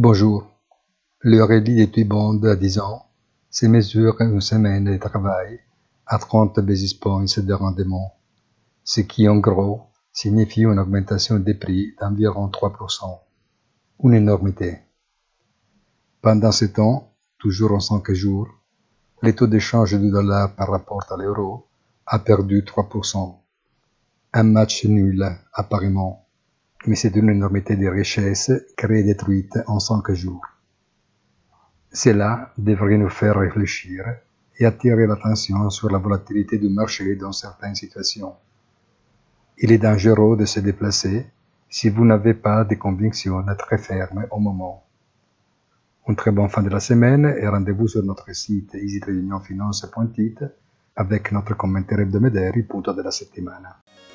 Bonjour. Le rallye des T-bonds à 10 ans se mesure une semaine de travail à 30 basis points de rendement, ce qui en gros signifie une augmentation des prix d'environ 3%. Une énormité. Pendant ce temps, toujours en 5 jours, le taux d'échange du dollar par rapport à l'euro a perdu 3%. Un match nul, apparemment, mais c'est une énormité de richesses créée et détruite en 5 jours. Cela devrait nous faire réfléchir et attirer l'attention sur la volatilité du marché dans certaines situations. Il est dangereux de se déplacer si vous n'avez pas de convictions très fermes au moment. Une très bonne fin de la semaine et rendez-vous sur notre site easytradingfinance.it avec notre commentaire hebdomadaire punto della settimana.